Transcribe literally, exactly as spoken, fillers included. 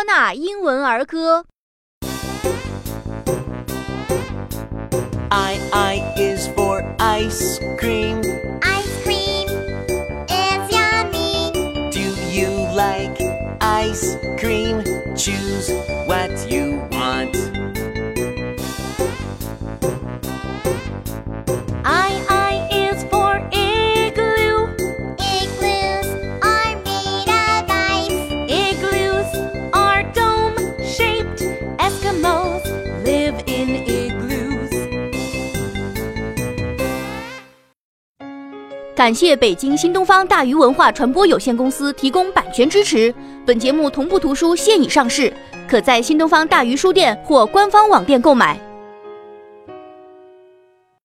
纳英文儿歌。 I, I is for ice cream. Ice cream is yummy. Do you like ice cream? Choose what you want. I, I is for igloo. Igloos are made of ice. Igloos are dome-shaped. Eskimos live in igloos. 感谢北京新东方大鱼文化传播有限公司提供版权支持。本节目同步图书现已上市，可在新东方大鱼书店或官方网店购买。